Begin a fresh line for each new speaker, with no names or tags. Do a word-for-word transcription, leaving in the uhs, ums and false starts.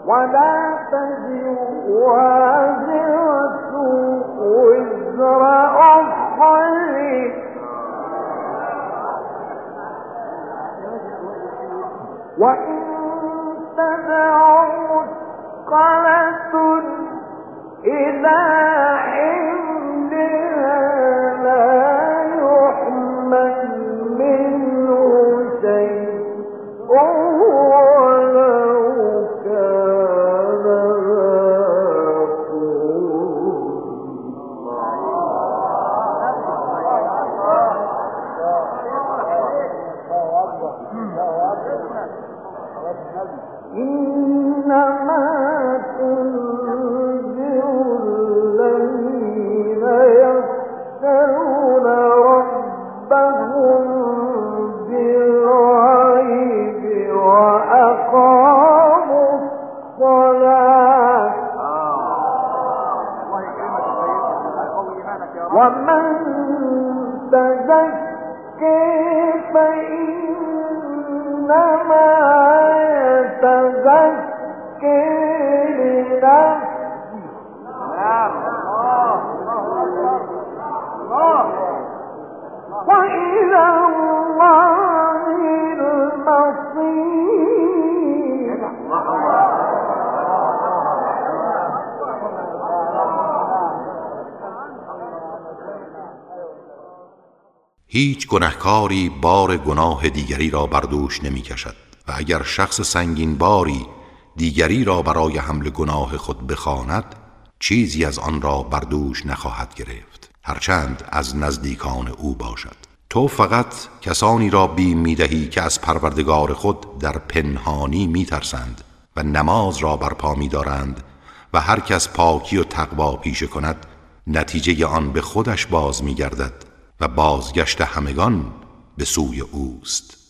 ولا تزر وازرة وزر أخرى وإن تدع مثقلة إلى حملها لا يحمل منه شيء ولو كان إنما تنذر الذين يخشون ربهم بالغيب وأقاموا الصلاة ومن تزكى فإنما يتزكى لنفسه وإلى الله المصير.
هیچ گنهکاری بار گناه دیگری را بر دوش نمی کشد و اگر شخص سنگین باری دیگری را برای حمل گناه خود بخواند چیزی از آن را بر دوش نخواهد گرفت هرچند از نزدیکان او باشد. تو فقط کسانی را بیم می دهی که از پروردگار خود در پنهانی می ترسند و نماز را برپا می دارند و هر کس پاکی و تقوا پیشه کند نتیجه آن به خودش باز می گردد و بازگشت همگان به سوی اوست.